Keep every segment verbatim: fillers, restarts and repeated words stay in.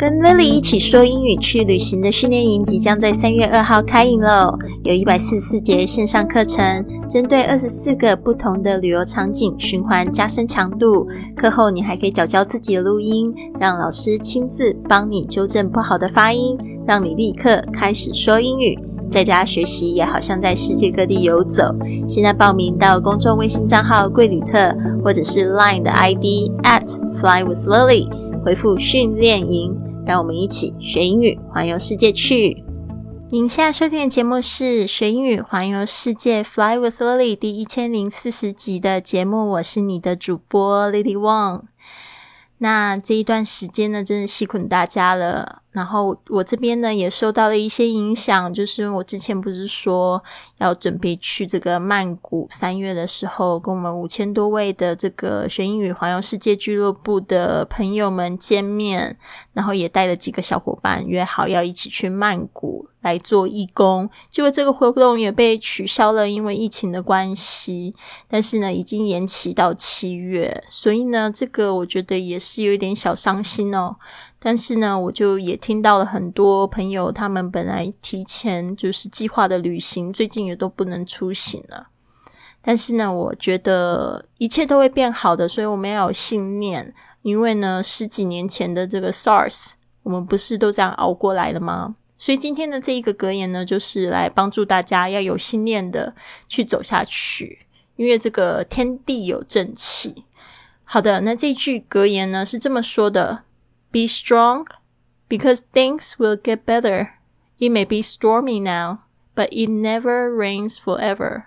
跟 Lily 一起说英语去旅行的训练营即将在三月二号开营了，有一百四十四节线上课程，针对二十四个不同的旅游场景循环加深强度。课后你还可以缴交自己的录音，让老师亲自帮你纠正不好的发音，让你立刻开始说英语。在家学习也好像在世界各地游走。现在报名到公众微信账号贵旅特，或者是 Line 的 I D at flywithlily， 回复训练营，让我们一起学英语环游世界去。您现在收听的节目是学英语环游世界 Fly with Lily 第一千零四十集的节目，我是你的主播 Lily Wong。那这一段时间呢，真的辛苦大家了。然后我这边呢也受到了一些影响，就是我之前不是说要准备去这个曼谷，三月的时候跟我们五千多位的这个学英语环游世界俱乐部的朋友们见面，然后也带了几个小伙伴约好要一起去曼谷来做义工，结果这个活动也被取消了，因为疫情的关系，但是呢已经延期到七月，所以呢这个我觉得也是有一点小伤心哦。但是呢我就也听到了很多朋友，他们本来提前就是计划的旅行最近也都不能出行了。但是呢我觉得一切都会变好的，所以我们要有信念，因为呢十几年前的这个 SARS 我们不是都这样熬过来了吗？所以今天的这一个格言呢，就是来帮助大家要有信念的去走下去，因为这个天地有正气。好的，那这句格言呢是这么说的， Be strong, because things will get better. It may be stormy now, but it never rains forever.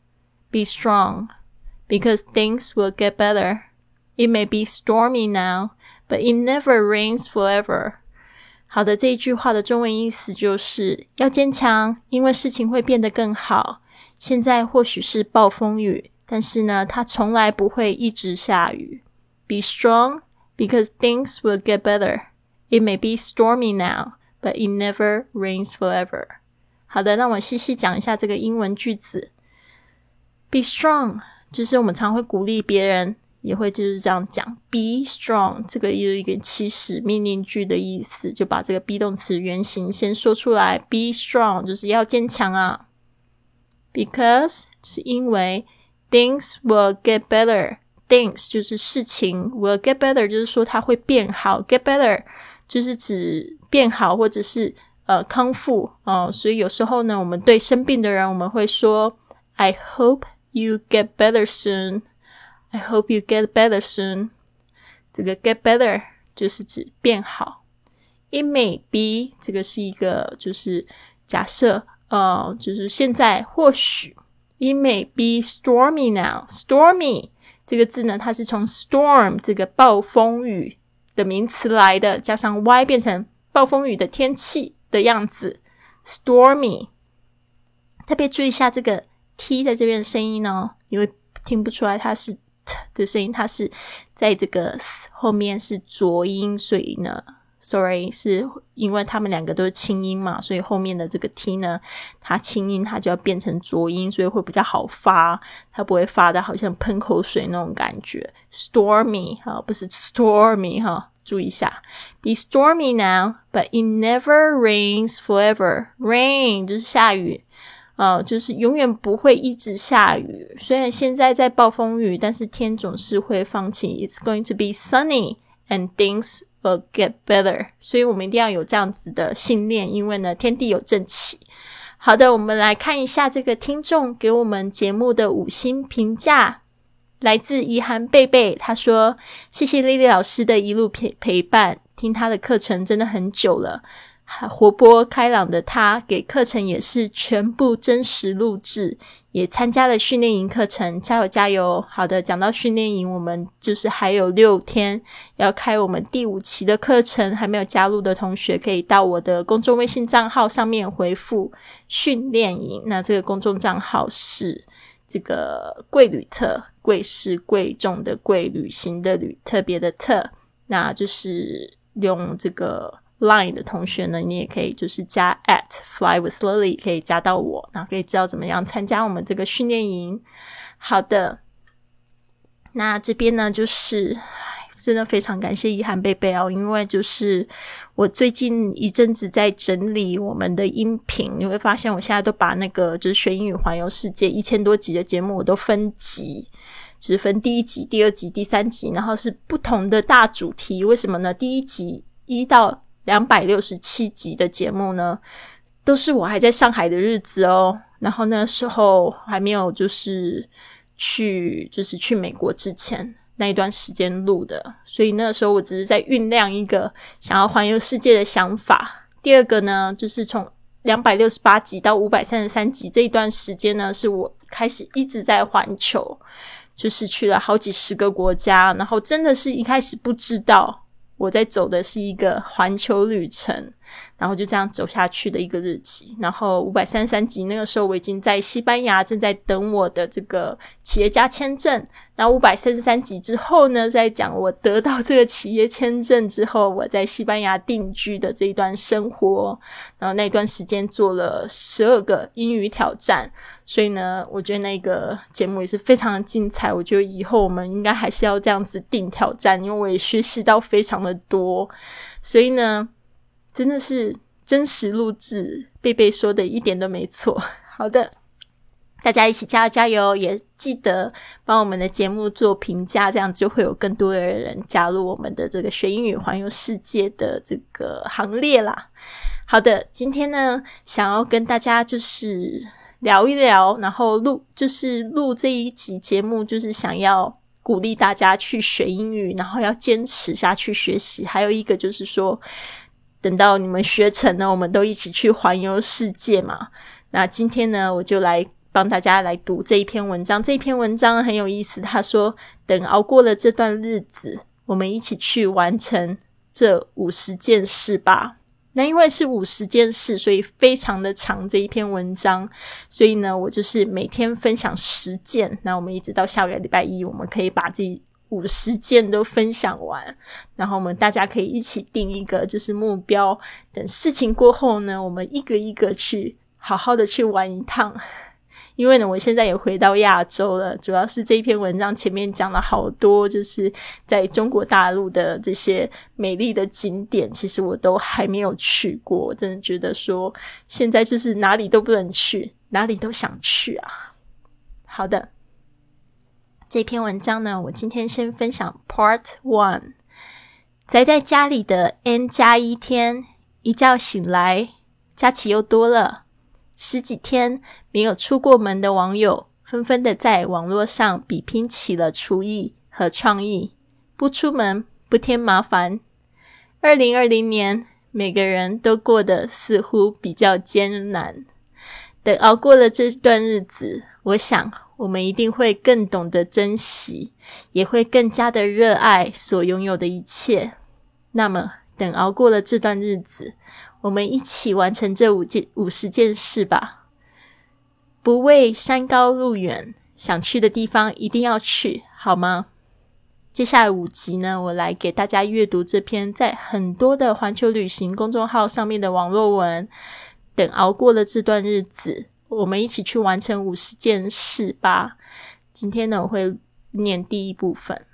Be strong, because things will get better. It may be stormy now, but it never rains forever.好的，这一句话的中文意思就是要坚强，因为事情会变得更好。现在或许是暴风雨，但是呢它从来不会一直下雨。 Be strong, because things will get better. It may be stormy now, but it never rains forever. 好的，让我细细讲一下这个英文句子。 Be strong 就是我们常会鼓励别人，也会就是这样讲 be strong， 这个也有一个祈使命令句的意思，就把这个 be 动词原形先说出来。 be strong 就是要坚强啊。 because 就是因为 things will get better， things 就是事情， will get better 就是说它会变好， get better 就是指变好或者是呃康复哦。所以有时候呢我们对生病的人我们会说 I hope you get better soon，I hope you get better soon。 这个 get better 就是指变好。 It may be 这个是一个就是假设呃，就是现在或许。 It may be stormy now， stormy 这个字呢它是从 storm 这个暴风雨的名词来的，加上 y 变成暴风雨的天气的样子 stormy。 特别注意一下这个 t 在这边的声音哦，你会听不出来它是的声音，它是在这个 s 后面是浊音，所以呢 sorry 是因为他们两个都是清音嘛，所以后面的这个 t 呢它清音它就要变成浊音，所以会比较好发，它不会发的好像喷口水那种感觉。 stormy 不是 stormy 注意一下。 Be stormy now, but it never rains forever. Rain 就是下雨呃，就是永远不会一直下雨，虽然现在在暴风雨，但是天总是会放晴。 It's going to be sunny and things will get better。 所以我们一定要有这样子的信念，因为呢天地有正气。好的，我们来看一下这个听众给我们节目的五星评价，来自怡涵贝贝，他说谢谢 Lily 老师的一路陪陪伴，听他的课程真的很久了，活泼开朗的他给课程也是全部真实录制，也参加了训练营课程，加油加油。好的，讲到训练营，我们就是还有六天要开我们第五期的课程，还没有加入的同学可以到我的公众微信账号上面回复训练营，那这个公众账号是这个贵旅特，贵是贵重的贵，旅行的旅，特别的特，那就是用这个Line 的同学呢，你也可以就是加 at flywithlily 可以加到我，然后可以知道怎么样参加我们这个训练营。好的，那这边呢就是真的非常感谢一涵贝贝哦，因为就是我最近一阵子在整理我们的音频，你会发现我现在都把那个就是学英语环游世界一千多集的节目我都分集，就是分第一集、第二集、第三集，然后是不同的大主题。为什么呢？第一集一到两百六十七集的节目呢，都是我还在上海的日子哦，然后那时候还没有就是去就是去美国之前那一段时间录的，所以那个时候我只是在酝酿一个想要环游世界的想法。第二个呢，就是从两百六十八集到五百三十三集这一段时间呢，是我开始一直在环球，就是去了好几十个国家，然后真的是一开始不知道我在走的是一个环球旅程，然后就这样走下去的一个日期。然后五百三十三集那个时候我已经在西班牙正在等我的这个企业家签证，然后五百三十三集之后呢，在讲我得到这个企业签证之后我在西班牙定居的这一段生活，然后那段时间做了十二个英语挑战。所以呢，我觉得那个节目也是非常的精彩，我觉得以后我们应该还是要这样子定挑战，因为我也学习到非常的多。所以呢，真的是真实录制，贝贝说的一点都没错。好的，大家一起加油加油，也记得帮我们的节目做评价，这样就会有更多的人加入我们的这个学英语环游世界的这个行列啦。好的，今天呢，想要跟大家就是聊一聊，然后录就是录这一集节目，就是想要鼓励大家去学英语，然后要坚持下去学习。还有一个就是说，等到你们学成了，我们都一起去环游世界嘛。那今天呢，我就来帮大家来读这一篇文章。这一篇文章很有意思，他说等熬过了这段日子，我们一起去完成这五十件事吧。那因为是五十件事，所以非常的长这一篇文章，所以呢我就是每天分享十件，那我们一直到下个礼拜一我们可以把这五十件都分享完，然后我们大家可以一起定一个就是目标，等事情过后呢，我们一个一个去好好的去玩一趟。因为呢我现在也回到亚洲了，主要是这一篇文章前面讲了好多就是在中国大陆的这些美丽的景点，其实我都还没有去过。我真的觉得说现在就是哪里都不能去，哪里都想去啊。好的，这篇文章呢，我今天先分享 Part one。 宅在家里的 N 加一天，一觉醒来假期又多了。十几天没有出过门的网友纷纷的在网络上比拼起了厨艺和创意，不出门不添麻烦。二零二零年每个人都过得似乎比较艰难，等熬过了这段日子，我想我们一定会更懂得珍惜，也会更加的热爱所拥有的一切。那么等熬过了这段日子，我们一起完成这五件五十件事吧。不畏山高路远，想去的地方一定要去，好吗？接下来五集呢，我来给大家阅读这篇在很多的环球旅行公众号上面的网络文。等熬过了这段日子，我们一起去完成五十件事吧。今天呢，我会念第一部分。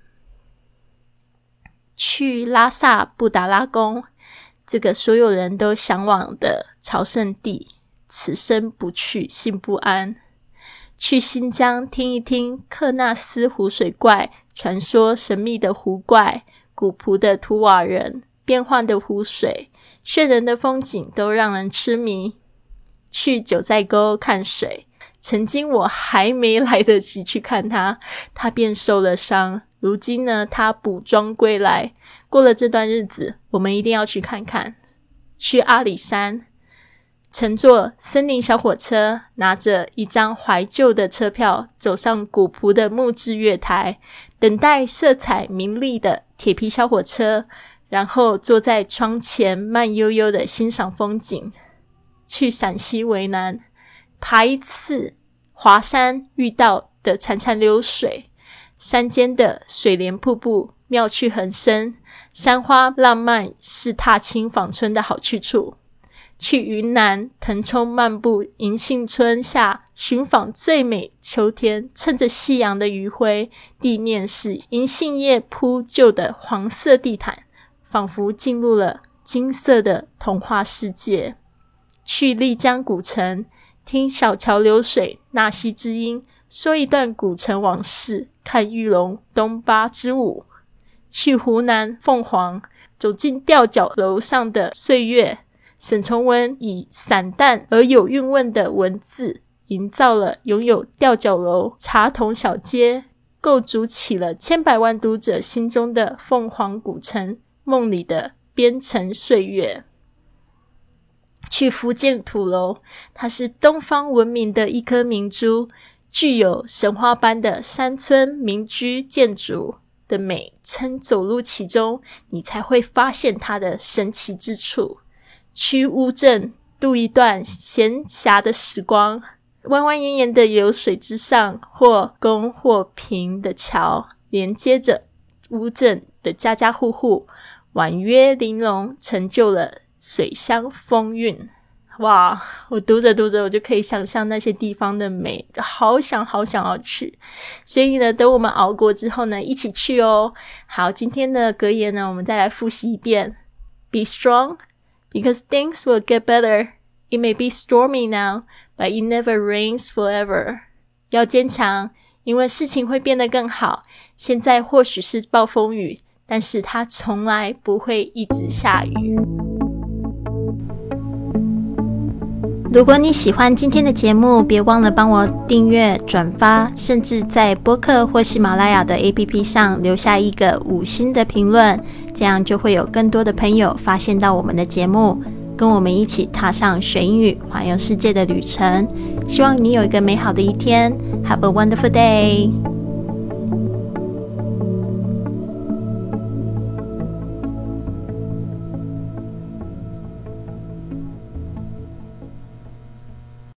去拉萨布达拉宫，这个所有人都向往的朝圣地，此生不去心不安。去新疆听一听克纳斯湖水怪，传说神秘的湖怪，古朴的图瓦人，变幻的湖水，炫人的风景都让人痴迷。去九寨沟看水，曾经我还没来得及去看它，它便受了伤，如今呢，它补妆归来。过了这段日子，我们一定要去看看。去阿里山，乘坐森林小火车，拿着一张怀旧的车票，走上古朴的木质月台，等待色彩明丽的铁皮小火车，然后坐在窗前慢悠悠的欣赏风景。去陕西渭南，爬一次华山遇到的潺潺流水，山间的水帘瀑布妙趣横生，山花浪漫是踏青访春的好去处。 去云南腾冲漫步银杏村下，寻访最美秋天，趁着夕阳的余晖，地面是银杏叶铺就的黄色地毯，仿佛进入了金色的童话世界。去丽江古城，听小桥流水，纳西之音，说一段古城往事，看玉龙东巴之舞。去湖南凤凰，走进吊脚楼上的岁月，沈从文以散淡而有韵味的文字，营造了拥有吊脚楼、茶桶小街，构筑起了千百万读者心中的凤凰古城，梦里的边城岁月。去福建土楼，它是东方文明的一颗明珠，具有神话般的山村民居建筑的美，称走入其中，你才会发现它的神奇之处。去乌镇，度一段闲暇的时光，弯弯延延的流水之上，或宫或平的桥，连接着乌镇的家家户户，婉约玲珑，成就了水乡风韵。哇，我读着读着我就可以想象那些地方的美，好想好想要去。所以呢，等我们熬过之后呢，一起去哦。好，今天的格言呢，我们再来复习一遍。 Be strong, because things will get better. It may be stormy now, but it never rains forever. 要坚强，因为事情会变得更好。现在或许是暴风雨，但是它从来不会一直下雨。如果你喜欢今天的节目，别忘了帮我订阅、转发，甚至在播客或喜马拉雅的 A P P 上留下一个五星的评论，这样就会有更多的朋友发现到我们的节目，跟我们一起踏上学英语环游世界的旅程。希望你有一个美好的一天。Have a wonderful day!